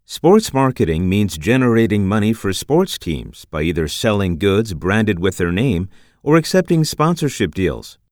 Sports marketing means generating money for sports teams by either selling goods branded with their name or accepting sponsorship deals.